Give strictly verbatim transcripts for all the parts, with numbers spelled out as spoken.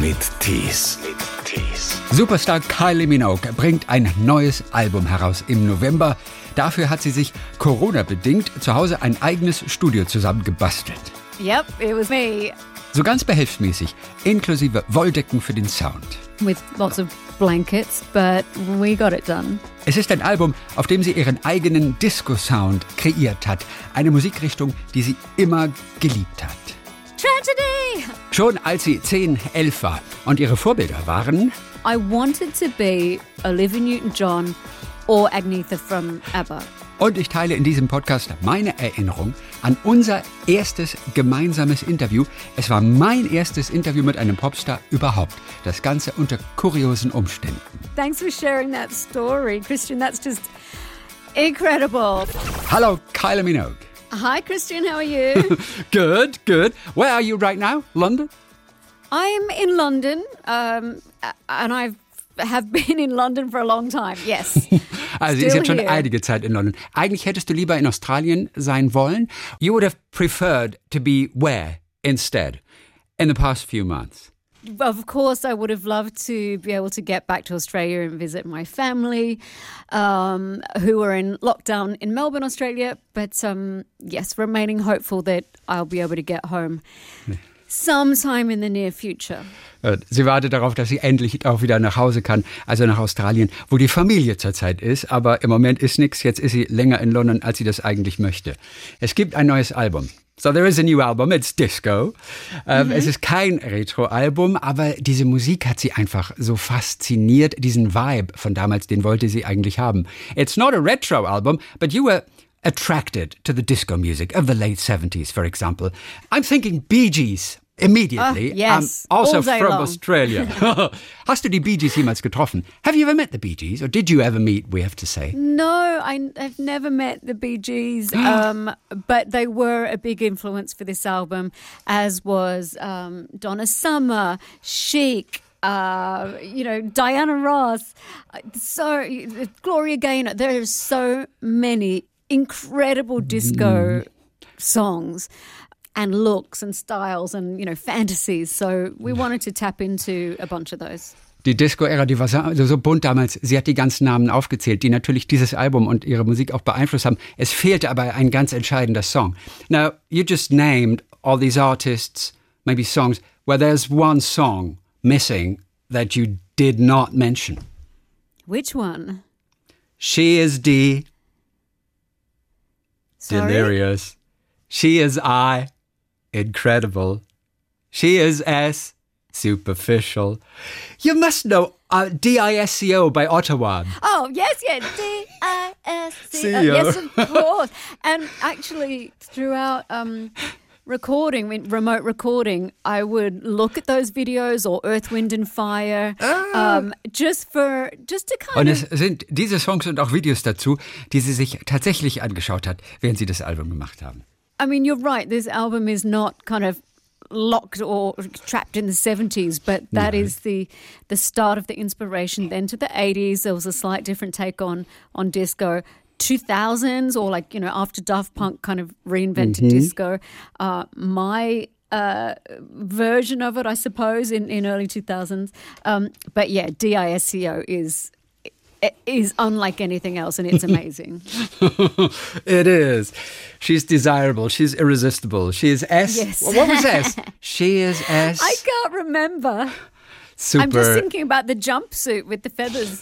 mit Tees. Tees. Superstar Kylie Minogue bringt ein neues Album heraus im November. Dafür hat sie sich Corona-bedingt zu Hause ein eigenes Studio zusammengebastelt. Yep, it was me. So ganz behelfsmäßig, inklusive Wolldecken für den Sound. With lots of blankets, but we got it done. Es ist ein Album, auf dem sie ihren eigenen Disco-Sound kreiert hat. Eine Musikrichtung, die sie immer geliebt hat. Tragedy! Schon als sie zehn, elf war und ihre Vorbilder waren... I wanted to be Olivia Newton-John or Agnetha from ABBA. Und ich teile in diesem Podcast meine Erinnerung an unser erstes gemeinsames Interview. Es war mein erstes Interview mit einem Popstar überhaupt. Das Ganze unter kuriosen Umständen. Thanks for sharing that story, Christian. That's just incredible. Hallo, Kylie Minogue. Hi, Christian. How are you? Good, good. Where are you right now? London? I'm in London, um, and I have been in London for a long time, yes. Also sie ist jetzt schon einige Zeit in London. Eigentlich hättest du lieber in Australien sein wollen. You would have preferred to be where instead in the past few months? Of course, I would have loved to be able to get back to Australia and visit my family, um, who are in lockdown in Melbourne, Australia. But um, yes, remaining hopeful that I'll be able to get home sometime in the near future. Sie wartet darauf, dass sie endlich auch wieder nach Hause kann, also nach Australien, wo die Familie zurzeit ist. Aber im Moment ist nichts. Jetzt ist sie länger in London, als sie das eigentlich möchte. Es gibt ein neues Album. So there is a new album, it's Disco. Ähm, mhm. Es ist kein Retro-Album, aber diese Musik hat sie einfach so fasziniert. Diesen Vibe von damals, den wollte sie eigentlich haben. It's not a retro-album, but you were attracted to the disco music of the late seventies, for example. I'm thinking Bee Gees. Immediately. Oh, yes. Um, also All day from long. Australia. Hast du die Bee Gees jemals getroffen? Have you ever met the Bee Gees? Or did you ever meet, we have to say? No, I, I've never met the Bee Gees, um, but they were a big influence for this album, as was um, Donna Summer, Chic, uh, you know, Diana Ross, so Gloria Gaynor. There are so many incredible disco mm. songs and looks and styles and, you know, fantasies. So we wanted to tap into a bunch of those. Die Disco-Ära, die war so, so bunt damals. Sie hat die ganzen Namen aufgezählt, die natürlich dieses Album und ihre Musik auch beeinflusst haben. Es fehlte aber ein ganz entscheidender Song. Now, you just named all these artists, maybe songs, where there's one song missing that you did not mention. Which one? She is D. Sorry? Delirious. She is I. Incredible. She is S. Superficial. You must know uh, D I S C O by Ottawa. Oh, yes, yes. D I S C O. C O. Yes, of course. And actually, throughout um, recording, remote recording, I would look at those videos or Earth, Wind and Fire, ah. um, just for, just to kind Und of... es sind diese Songs und auch Videos dazu, die sie sich tatsächlich angeschaut hat, während sie das Album gemacht haben. I mean, you're right. This album is not kind of locked or trapped in the seventies, but that no. is the the start of the inspiration. Then to the eighties, there was a slight different take on on disco. two thousands, or like, you know, after Daft Punk kind of reinvented mm-hmm. disco. Uh, my uh, version of it, I suppose, in, in early two thousands. Um, but yeah, D I S C O is... is unlike anything else, and it's amazing. It is. She's desirable. She's irresistible. She is S. Yes. What was S? She is S. I can't remember. Super. I'm just thinking about the jumpsuit with the feathers.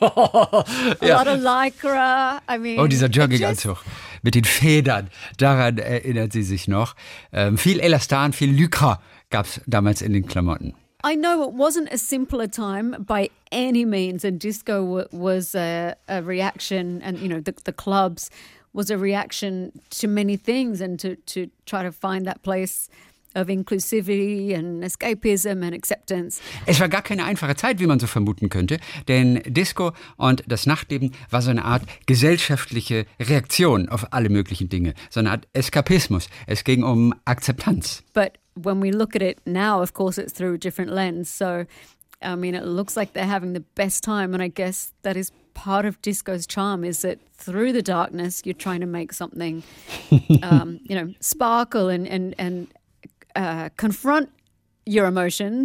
A ja. lot of lycra. I mean, oh, dieser Jogginganzug mit den Federn. Daran erinnert sie sich noch. Ähm, viel Elastan, viel Lycra gab es damals in den Klamotten. I know it wasn't a simpler time by any means, and disco w- was a, a reaction, and, you know, the, the clubs was a reaction to many things, and to, to try to find that place of inclusivity and escapism and acceptance. Es war gar keine einfache Zeit, wie man so vermuten könnte, denn Disco und das Nachtleben war so eine Art gesellschaftliche Reaktion auf alle möglichen Dinge, so eine Art Eskapismus. Es ging um Akzeptanz. But when we look at it now, of course, it's through a different lens. So, I mean, it looks like they're having the best time, and I guess that is part of disco's charm, is that through the darkness, you're trying to make something, um, you know, sparkle and and and uh, confront your emotions, but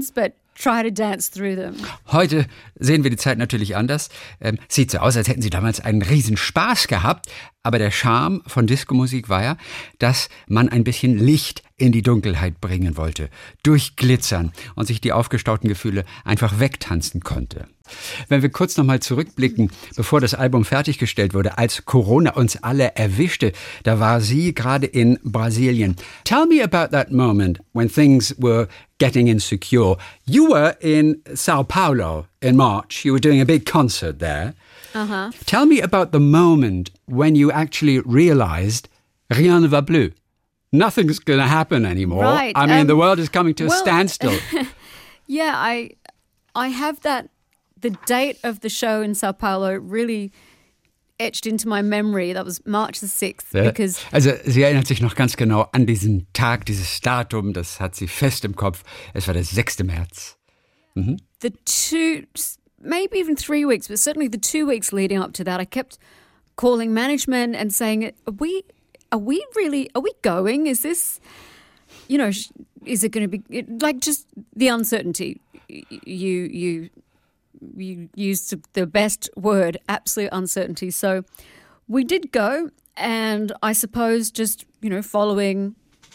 try to dance through them. Heute sehen wir die Zeit natürlich anders. Ähm, sieht so aus, als hätten sie damals einen riesen Spaß gehabt. Aber der Charme von Disco-Musik war ja, dass man ein bisschen Licht in die Dunkelheit bringen wollte. Durchglitzern und sich die aufgestauten Gefühle einfach wegtanzen konnte. Wenn wir kurz nochmal zurückblicken, bevor das Album fertiggestellt wurde, als Corona uns alle erwischte, da war sie gerade in Brasilien. Tell me about that moment when things were getting insecure. You were in Sao Paulo in March. You were doing a big concert there. Uh-huh. Tell me about the moment when you actually realized rien ne va plus. Nothing's going to happen anymore. Right. I mean, um, the world is coming to well, a standstill. Yeah, I, I have that. The date of the show in Sao Paulo really etched into my memory. That was March the sixth. Ja. Because Also sie erinnert sich noch ganz genau an diesen Tag, dieses Datum, das hat sie fest im Kopf. Es war der sechste März. Mhm. the two, maybe even three weeks, but certainly the two weeks leading up to that, I kept calling management and saying, are we, are we really, are we going? Is this, you know, is it going to be, like just the uncertainty. You, you, you used the best word, absolute uncertainty. So we did go, and I suppose just, you know, following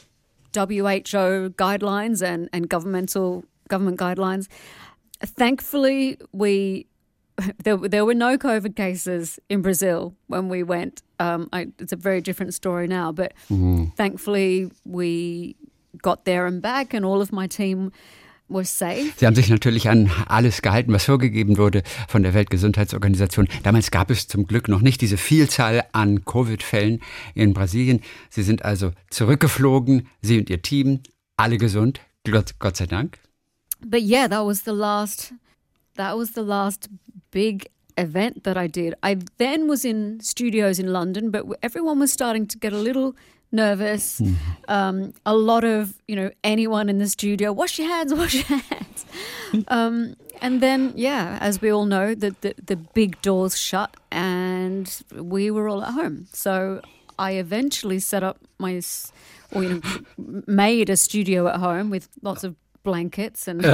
W H O guidelines and, and governmental government guidelines. Thankfully, we there, there were no COVID cases in Brazil when we went. Um, I, it's a very different story now, but mm-hmm. thankfully we got there and back, and all of my team was safe. Sie haben sich natürlich an alles gehalten, was vorgegeben wurde von der Weltgesundheitsorganisation. Damals gab es zum Glück noch nicht diese Vielzahl an Covid-Fällen in Brasilien. Sie sind also zurückgeflogen, Sie und Ihr Team, alle gesund, Gott, Gott sei Dank. But yeah, that was the last, that was the last big event that I did. I then was in studios in London, but everyone was starting to get a little nervous. Mm. Um, a lot of, you know, anyone in the studio, wash your hands, wash your hands. um, and then, yeah, as we all know, the, the, the big doors shut and we were all at home. So I eventually set up my, or, you know, made a studio at home with lots of blankets and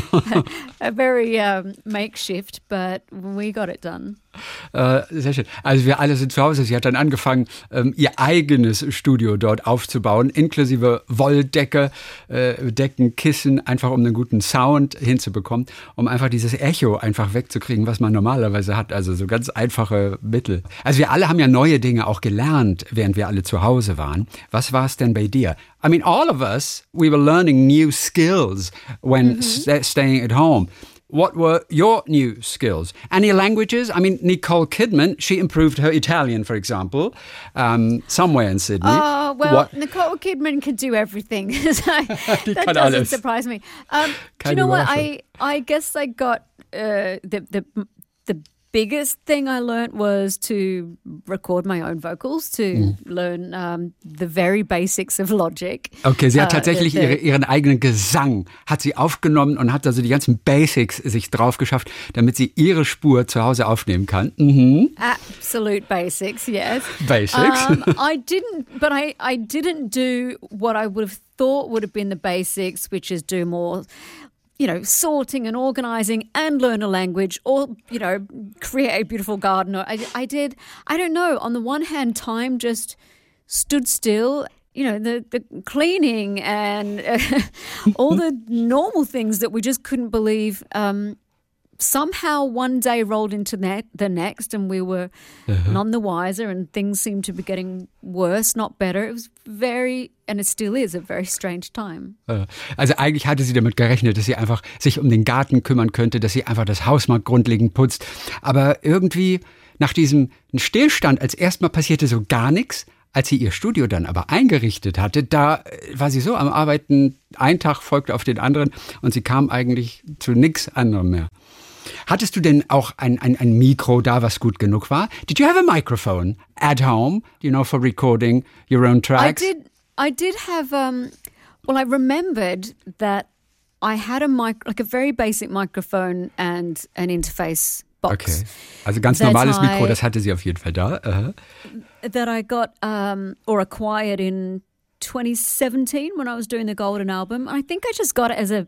a very um, makeshift, but we got it done. Äh, sehr schön. Also wir alle sind zu Hause. Sie hat dann angefangen, ähm, ihr eigenes Studio dort aufzubauen, inklusive Wolldecke, äh, Decken, Kissen, einfach um einen guten Sound hinzubekommen, um einfach dieses Echo einfach wegzukriegen, was man normalerweise hat. Also so ganz einfache Mittel. Also wir alle haben ja neue Dinge auch gelernt, während wir alle zu Hause waren. Was war es denn bei dir? I mean, all of us, we were learning new skills when mm-hmm. st- staying at home. What were your new skills? Any languages? I mean, Nicole Kidman, she improved her Italian, for example, um, somewhere in Sydney. Oh, well, what? Nicole Kidman can do everything. so that doesn't alles. surprise me. Um, do you know what? I, I guess I got uh, the, the, the biggest thing I learned was to record my own vocals, to mm. learn um, the very basics of Logic. Okay, sie hat tatsächlich uh, the, the, ihre, ihren eigenen Gesang, hat sie aufgenommen und hat also die ganzen Basics sich drauf geschafft, damit sie ihre Spur zu Hause aufnehmen kann. Mhm. Absolute basics, yes. Basics. Um, I didn't, but I, I didn't do what I would have thought would have been the basics, which is do more, you know, sorting and organising and learn a language or, you know, create a beautiful garden. I, I did, I don't know, on the one hand, time just stood still, you know, the, the cleaning and uh, all the normal things that we just couldn't believe um, somehow one day rolled into ne- the next and we were uh-huh. none the wiser and things seemed to be getting worse, not better. It was very, and it still is, a very strange time. Also eigentlich hatte sie damit gerechnet, dass sie einfach sich um den Garten kümmern könnte, dass sie einfach das Haus mal grundlegend putzt. Aber irgendwie nach diesem Stillstand, als erstmal passierte so gar nichts, als sie ihr Studio dann aber eingerichtet hatte, da war sie so am Arbeiten, ein Tag folgte auf den anderen und sie kam eigentlich zu nichts anderem mehr. Hattest du denn auch ein, ein, ein Mikro da, was gut genug war? Did you have a microphone at home, you know, for recording your own tracks? I did, I did have, um, well, I remembered that I had a mic, like a very basic microphone and an interface box. Okay, also ganz normales Mikro, das hatte sie auf jeden Fall da. Uh-huh. That I got um, or acquired in twenty seventeen when I was doing the Golden Album. I think I just got it as a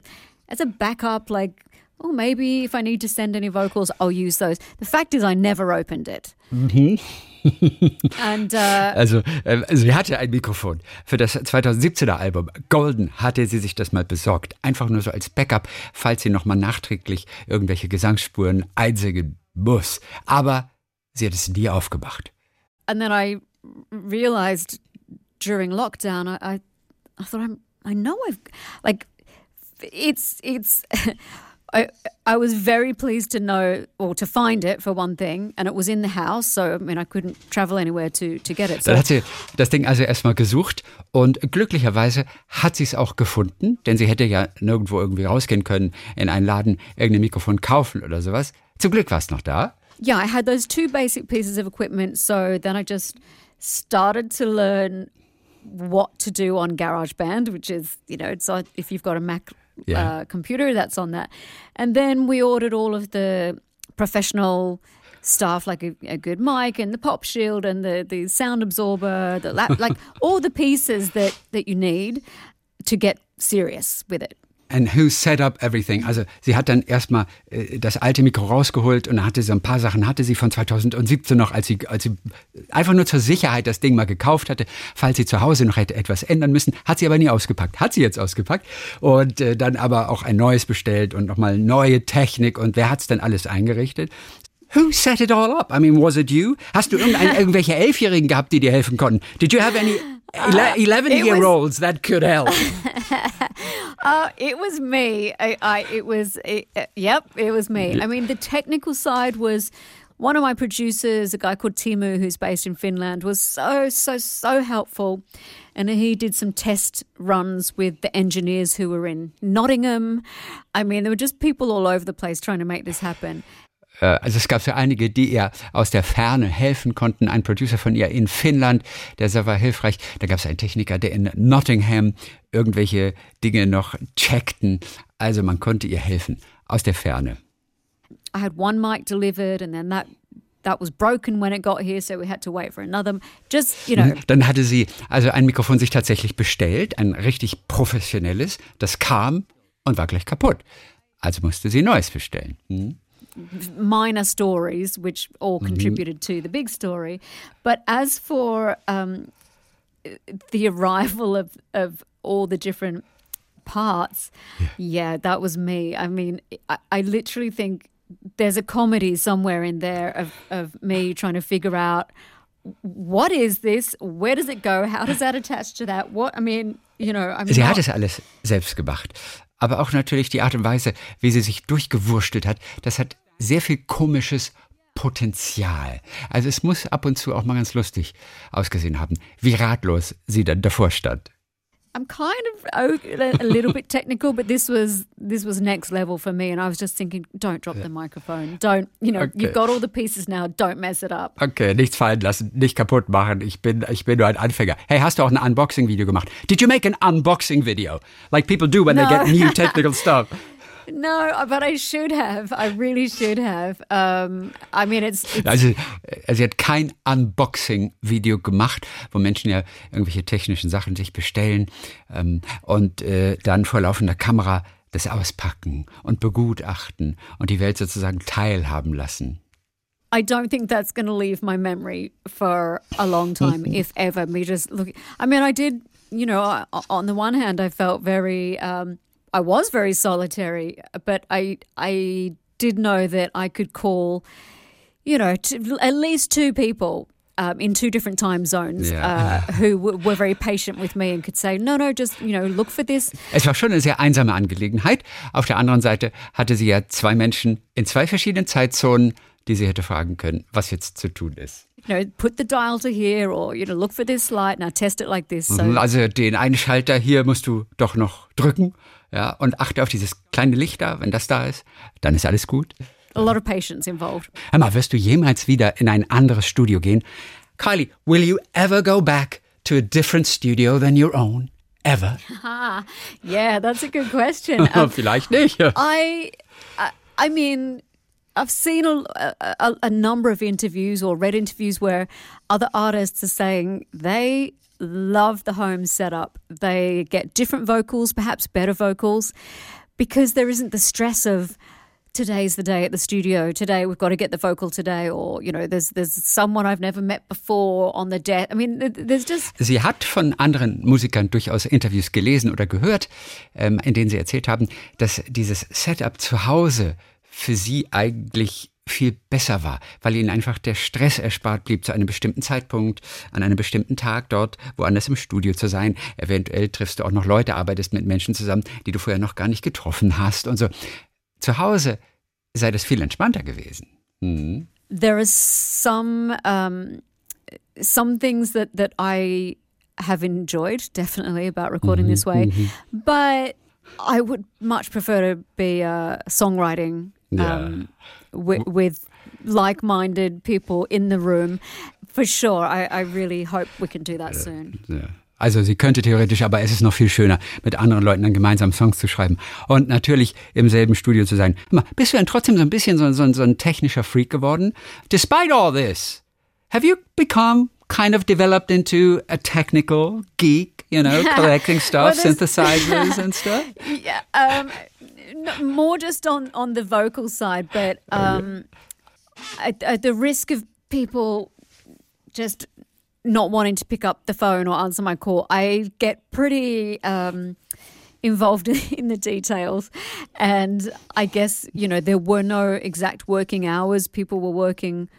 as a backup, like, oh, maybe if I need to send any vocals, I'll use those. The fact is, I never opened it. Mhm. And, uh, also, äh, sie hatte ein Mikrofon. Für das zweitausendsiebzehner Album Golden hatte sie sich das mal besorgt. Einfach nur so als Backup, falls sie nochmal nachträglich irgendwelche Gesangsspuren einsingen muss. Aber sie hat es nie aufgemacht. And then I realized during lockdown, I, I, I thought, I'm, I know I've, like, it's, it's, I, I was very pleased to know, or to find it for one thing, and it was in the house, so I mean, I couldn't travel anywhere to, to get it. So. Dann hat sie das Ding also erstmal gesucht und glücklicherweise hat sie es auch gefunden, denn sie hätte ja nirgendwo irgendwie rausgehen können, in einen Laden irgendein Mikrofon kaufen oder sowas. Zum Glück war es noch da. Yeah, I had those two basic pieces of equipment, so then I just started to learn what to do on GarageBand, which is, you know, it's like if you've got a Mac Yeah. uh, computer, that's on that. And then we ordered all of the professional stuff, like a, a good mic and the pop shield and the, the sound absorber, the lap, like all the pieces that, that you need to get serious with it. And who set up everything? Also sie hat dann erstmal äh, das alte Mikro rausgeholt und dann hatte sie ein paar Sachen, hatte sie von zweitausendsiebzehn noch, als sie, als sie einfach nur zur Sicherheit das Ding mal gekauft hatte, falls sie zu Hause noch hätte etwas ändern müssen, hat sie aber nie ausgepackt. Hat sie jetzt ausgepackt und äh, dann aber auch ein neues bestellt und nochmal neue Technik und wer hat's denn alles eingerichtet? Who set it all up? I mean, was it you? Hast du irgendein, irgendwelche Elfjährigen gehabt, die dir helfen konnten? Did you have any eleven-year-olds uh, that could help? Uh, it was me. I, I, it was, it, uh, yep, it was me. I mean, the technical side was one of my producers, a guy called Timu, who's based in Finland, was so, so, so helpful. And he did some test runs with the engineers who were in Nottingham. I mean, there were just people all over the place trying to make this happen. Also es gab so einige, die ihr aus der Ferne helfen konnten. Ein Producer von ihr in Finnland, der sehr war hilfreich. Da gab es einen Techniker, der in Nottingham irgendwelche Dinge noch checkten. Also man konnte ihr helfen aus der Ferne. I had one mic delivered and then that that was broken when it got here, so we had to wait for another. Just, you know. Dann hatte sie also ein Mikrofon sich tatsächlich bestellt, ein richtig professionelles. Das kam und war gleich kaputt. Also musste sie neues bestellen. Hm? Minor stories, which all contributed mm-hmm. to the big story. But as for um, the arrival of, of all the different parts, yeah. yeah, that was me. I mean, I, I literally think there's a comedy somewhere in there of, of me trying to figure out what is this? Where does it go? How does that attach to that? What, I mean, you know, I'm Sie not... hat es alles selbst gemacht. Aber auch natürlich die Art und Weise, wie sie sich durchgewurstelt hat, das hat sehr viel komisches Potenzial. Also es muss ab und zu auch mal ganz lustig ausgesehen haben, wie ratlos sie dann davor stand. I'm kind of a little bit technical, but this was this was next level for me. And I was just thinking, don't drop the microphone. Don't, you know, okay. You've got all the pieces now. Don't mess it up. Okay, nichts fallen lassen, nicht kaputt machen. Ich bin, ich bin nur ein Anfänger. Hey, hast du auch ein Unboxing-Video gemacht? Did you make an unboxing video? Like people do when no. they get new technical stuff. No, but I should have. I really should have. Um, I mean, it's, it's also, sie hat kein Unboxing-Video gemacht, wo Menschen ja irgendwelche technischen Sachen sich bestellen ähm, und äh, dann vor laufender Kamera das auspacken und begutachten und die Welt sozusagen teilhaben lassen. I don't think that's going to leave my memory for a long time, if ever. Me just looking. I mean, I did. You know, on the one hand, I felt very. Um, I was very solitary, but I I did know that I could call, you know, to, at least two people um, in two different time zones yeah. uh, who w- were very patient with me and could say, no, no, just, you know, look for this. Es war schon eine sehr einsame Angelegenheit. Auf der anderen Seite hatte sie ja zwei Menschen in zwei verschiedenen Zeitzonen, die sie hätte fragen können, was jetzt zu tun ist. You know, put the dial to here or, you know, look for this light, now test it like this. So. Also den einen Schalter hier musst du doch noch drücken. Ja, und achte auf dieses kleine Licht da, wenn das da ist, dann ist alles gut. A lot of patience involved. Hör mal, wirst du jemals wieder in ein anderes Studio gehen? Kylie, will you ever go back to a different studio than your own? Ever? Yeah, that's a good question. Um, Vielleicht nicht. I, I, I mean, I've seen a, a, a number of interviews or read interviews where other artists are saying they love the home setup. They get different vocals, perhaps better vocals, because there isn't the stress of today's the day at the studio, today we've got to get the vocal today, or, you know, there's there's someone I've never met before on the deck. I mean, there's just... Sie hat von anderen Musikern durchaus Interviews gelesen oder gehört, ähm, in denen sie erzählt haben, dass dieses Setup zu Hause für sie eigentlich viel besser war, weil ihnen einfach der Stress erspart blieb, zu einem bestimmten Zeitpunkt, an einem bestimmten Tag dort, woanders im Studio zu sein. Eventuell triffst du auch noch Leute, arbeitest mit Menschen zusammen, die du vorher noch gar nicht getroffen hast und so. Zu Hause sei das viel entspannter gewesen. Mhm. There are some um, some things that, that I have enjoyed, definitely, about recording Mhm, this way. mhm. But I would much prefer to be uh, songwriting Yeah. um, wi- with like-minded people in the room. For sure, I, I really hope we can do that soon. Ja. Also sie könnte theoretisch, aber es ist noch viel schöner, mit anderen Leuten dann gemeinsam Songs zu schreiben und natürlich im selben Studio zu sein. Mal, bist du denn trotzdem so ein bisschen so, so, so ein technischer Freak geworden? Despite all this, have you become kind of developed into a technical geek, you know, collecting stuff, Well, synthesizers and stuff? Yeah, um, no, more just on, on the vocal side, but um, at, at the risk of people just not wanting to pick up the phone or answer my call, I get pretty um, involved in the details. And I guess, you know, there were no exact working hours. People were working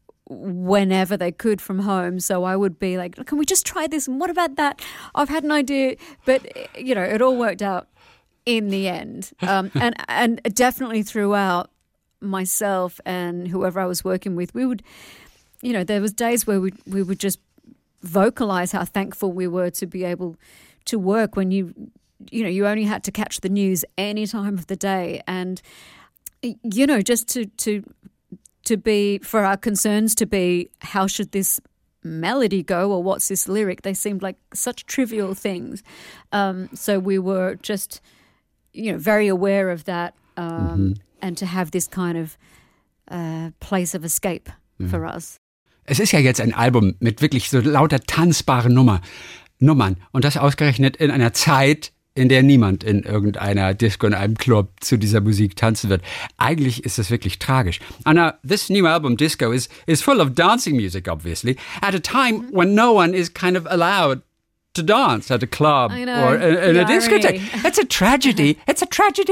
whenever they could from home. So I would be like, can we just try this? And what about that? I've had an idea. But, you know, it all worked out in the end. Um, and, and definitely throughout, myself and whoever I was working with, we would, you know, there was days where we we would just vocalize how thankful we were to be able to work when you, you know, you only had to catch the news any time of the day. And, you know, just to, to, to be, for our concerns to be, how should this melody go or what's this lyric? They seemed like such trivial things. Um, so we were just, you know, very aware of that um, mm-hmm. and to have this kind of uh, place of escape mm-hmm. for us. Es ist ja jetzt ein Album mit wirklich so lauter tanzbaren Nummer, Nummern. Und das ausgerechnet in einer Zeit, in der niemand in irgendeiner Disco, in einem Club zu dieser Musik tanzen wird. Eigentlich ist das wirklich tragisch. And uh, this new album, Disco, is, is full of dancing music, obviously, at a time when no one is kind of allowed to dance at a club I know, or in, in a irony. discotheque. It's a tragedy. It's a tragedy.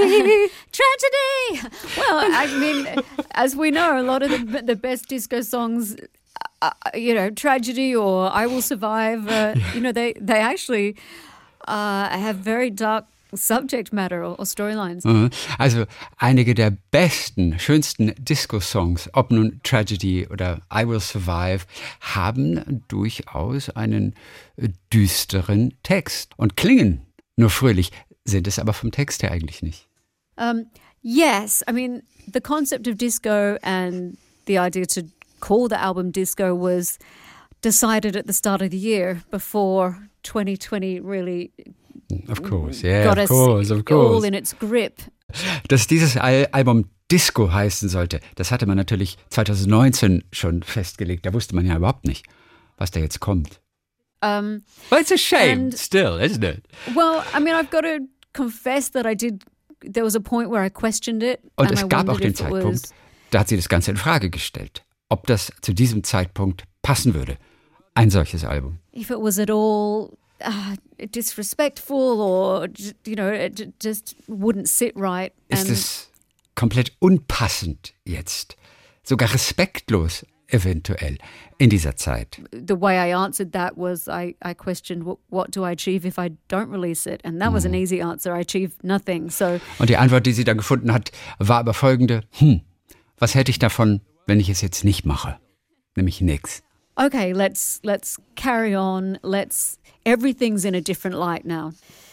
Tragedy! Well, I mean, as we know, a lot of the, the best disco songs, uh, you know, Tragedy or I Will Survive, uh, you know, they, they actually uh, have very dark subject matter or, or storylines. Also einige der besten, schönsten Disco-Songs, ob nun Tragedy oder I Will Survive, haben durchaus einen düsteren Text und klingen nur fröhlich, sind es aber vom Text her eigentlich nicht. Um, yes, I mean, the concept of disco and the idea to call the album Disco was decided at the start of the year before twenty twenty really Of course, yeah, got of us course, of course. all in its grip. Dass dieses Al- Album Disco heißen sollte, das hatte man natürlich zwanzig neunzehn schon festgelegt. Da wusste man ja überhaupt nicht, was da jetzt kommt. Um, Well, it's a shame and- still, isn't it? well, I mean, I've got to confess that I did. There was a point where I questioned it, Und and es I gab auch wondered den if it Zeitpunkt, was. da hat sie das Ganze in Frage gestellt, ob das zu diesem Zeitpunkt passen würde, ein solches Album. If it was at all uh, disrespectful or, j- you know, it j- just wouldn't sit right. Ist And es komplett unpassend jetzt, sogar respektlos eventuell in dieser Zeit? the way I answered that was I, I questioned what, what do I achieve if I don't release it? And that was an easy answer. I achieved nothing. So Und die Antwort, die sie dann gefunden hat, war aber folgende: Hm, was hätte ich davon, wenn ich es jetzt nicht mache? Nämlich nix. okay, let's let's carry on. Let's everything's in a different light now.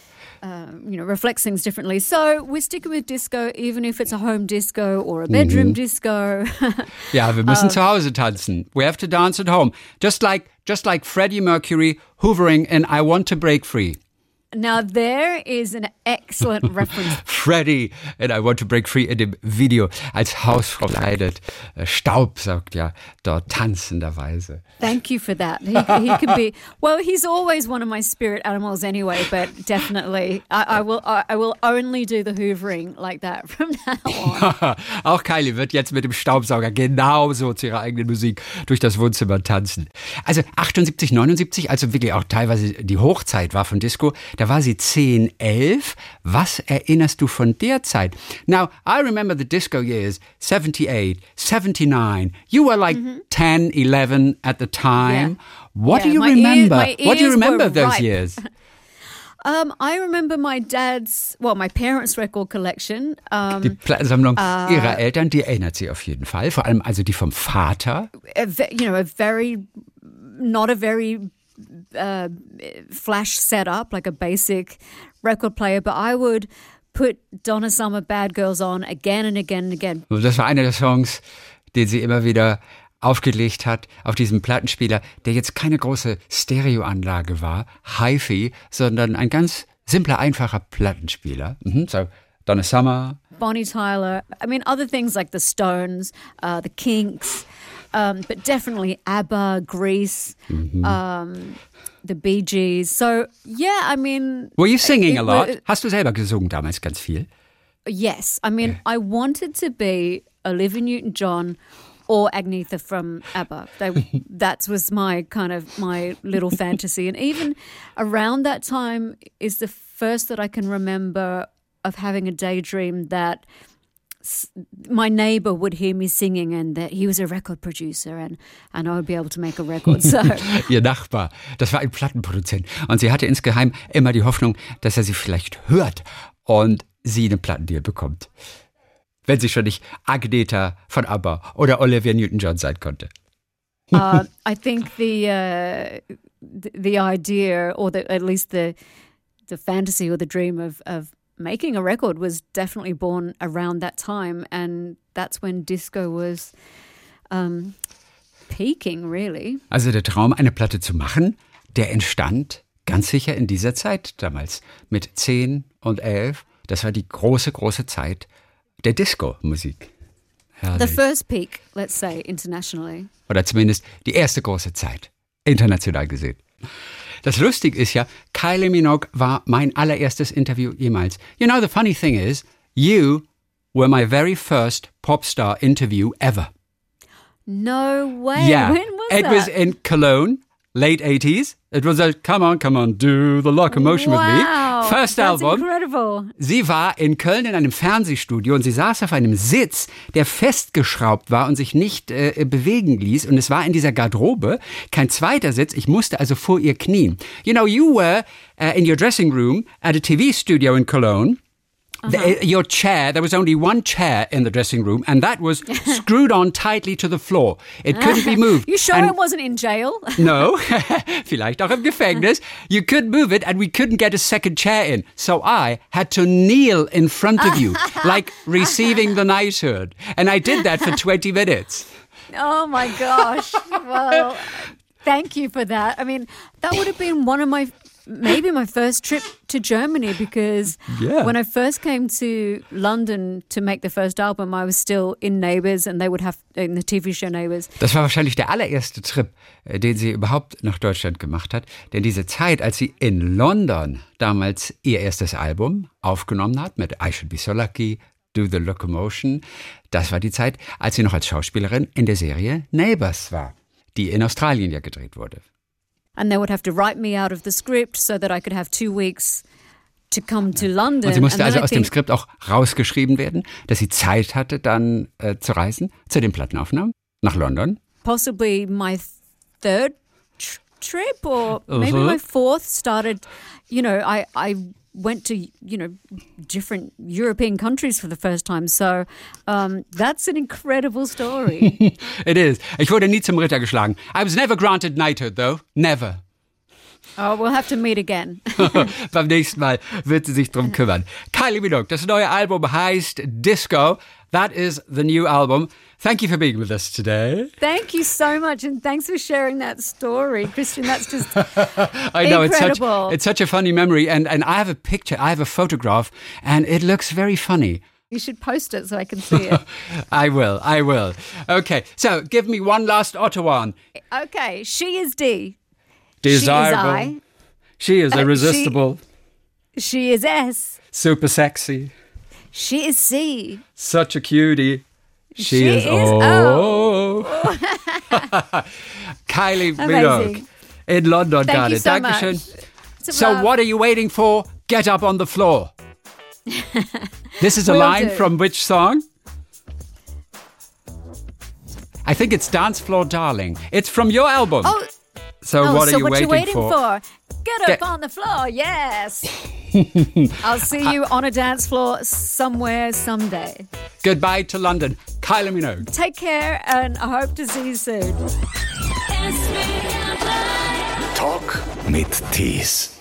Um, you know, reflects things differently. So we're sticking with disco, even if it's a home disco or a bedroom disco. Ja, wir müssen zu Hause tanzen. We have to dance at home. Just like, just like Freddie Mercury hoovering in I Want to Break Free. Now there is an excellent reference. Freddie and I Want to Break Free in dem Video als Hausfrau leidet, staubsaugt ja dort tanzenderweise. Thank you for that. He, he could be, well, he's always one of my spirit animals anyway, but definitely I, I will I, I will only do the hoovering like that from now on. Auch Kylie wird jetzt mit dem Staubsauger genauso zu ihrer eigenen Musik durch das Wohnzimmer tanzen. Also achtundsiebzig, neunundsiebzig, also wirklich auch teilweise die Hochzeit war von Disco, da war sie zehn, elf. Was erinnerst du von der Zeit? Now, I remember the disco years, seventy-eight, seventy-nine. You were like mm-hmm. ten, eleven at the time. Yeah. What yeah, do you my remember? Ear, my What do you remember ripe. those years? Um, I remember my dad's, well, my parents' record collection. Um, die Plattensammlung uh, ihrer Eltern, die erinnert sie auf jeden Fall. Vor allem also die vom Vater. A, you know, a very, not a very uh, flash setup, like a basic record player, but I would put Donna Summer Bad Girls on again and again and again. Das war einer der Songs, den sie immer wieder aufgelegt hat auf diesem Plattenspieler, der jetzt keine große Stereoanlage war, Hi-Fi, sondern ein ganz simpler, einfacher Plattenspieler. Mhm, so Donna Summer. Bonnie Tyler. I mean, other things like the Stones, uh, the Kinks, um, but definitely ABBA, Grease, mm-hmm. um, the Bee Gees. So, yeah, I mean... Were you singing a lot? It, Hast du selber gesungen damals ganz viel? Yes. I mean, yeah. I wanted to be Olivia Newton-John or Agnetha from ABBA. They, that was my kind of, my little fantasy. And even around that time is the first that I can remember of having a daydream that my neighbor would hear me singing and that he was a record producer and, and I would be able to make a record. So. Ihr Nachbar, das war ein Plattenproduzent. Und sie hatte insgeheim immer die Hoffnung, dass er sie vielleicht hört und sie einen Plattendeal bekommt. Wenn sie schon nicht Agnetha von ABBA oder Olivia Newton-John sein konnte. uh, I think the, uh, the the idea, or the, at least the the fantasy or the dream of, of making a record was definitely born around that time, and that's when disco was um, peaking, really. Also der Traum, eine Platte zu machen, der entstand ganz sicher in dieser Zeit damals. Mit zehn und elf, das war die große, große Zeit der Disco-Musik. The first peak, let's say, internationally. Oder zumindest die erste große Zeit, international gesehen. Das Lustige ist ja, Kylie Minogue war mein allererstes Interview jemals. You know, the funny thing is, you were my very first pop star interview ever. No way. Yeah. When was it that? It was in Cologne, late eighties. It was a Come On, Come On, Do the Locomotion wow. with Me. First That's album. Incredible. Sie war in Köln in einem Fernsehstudio und sie saß auf einem Sitz, der festgeschraubt war und sich nicht äh, bewegen ließ. Und es war in dieser Garderobe kein zweiter Sitz. Ich musste also vor ihr knien. You know, you were uh, in your dressing room at a T V studio in Cologne. Uh-huh. The, your chair, there was only one chair in the dressing room, and that was screwed on tightly to the floor. It couldn't be moved. You sure and it wasn't in jail? No, vielleicht auch im Gefängnis. You couldn't move it, and we couldn't get a second chair in. So I had to kneel in front of you, like receiving the knighthood. And I did that for twenty minutes. Oh, my gosh. Well, thank you for that. I mean, that would have been one of my... Maybe my first trip to Germany, because yeah. when I first came to London to make the first album, I was still in Neighbours and they would have, in the T V show Neighbours. Das war wahrscheinlich der allererste Trip, den sie überhaupt nach Deutschland gemacht hat. Denn diese Zeit, als sie in London damals ihr erstes Album aufgenommen hat mit I Should Be So Lucky, Do the Locomotion, das war die Zeit, als sie noch als Schauspielerin in der Serie Neighbours war, die in Australien ja gedreht wurde. And they would have to write me out of the script so that I could have two weeks to come to London. Und sie musste also I aus think, dem Skript auch rausgeschrieben werden, dass sie Zeit hatte, dann äh, zu reisen, zu den Plattenaufnahmen nach London. Possibly my third tr- trip or maybe uh-huh. my fourth started, you know, I, I went to, you know, different European countries for the first time. So um, that's an incredible story. It is. Ich wurde nie zum Ritter geschlagen. I was never granted knighthood, though. Never. Oh, we'll have to meet again. Beim nächsten Mal wird sie sich drum kümmern. Kylie Minogue, das neue Album heißt Disco. That is the new album. Thank you for being with us today. Thank you so much, and thanks for sharing that story, Christian. That's just I know, it's such, incredible. it's such a funny memory, and, and I have a picture, I have a photograph, and it looks very funny. You should post it so I can see it. I will, I will. Okay, so give me one last Ottawa. Okay, she is D. Desirable. She is Uh, irresistible. She, she is S. Super sexy. She is C. Such a cutie. She, She is, is O. Kylie Minogue Amazing. in London. Thank got you it. so Dankeschön. much. It's a So love. what are you waiting for? Get up on the floor. This is a Will line do. from which song? I think it's Dance Floor Darling. It's from your album. Oh, so oh what are so you what waiting, you waiting for? for? Get up Get- on the floor, yes. I'll see you on a dance floor somewhere someday. Goodbye to London. Kylie Minogue. Take care, and I hope to see you soon. Talk mit Tees.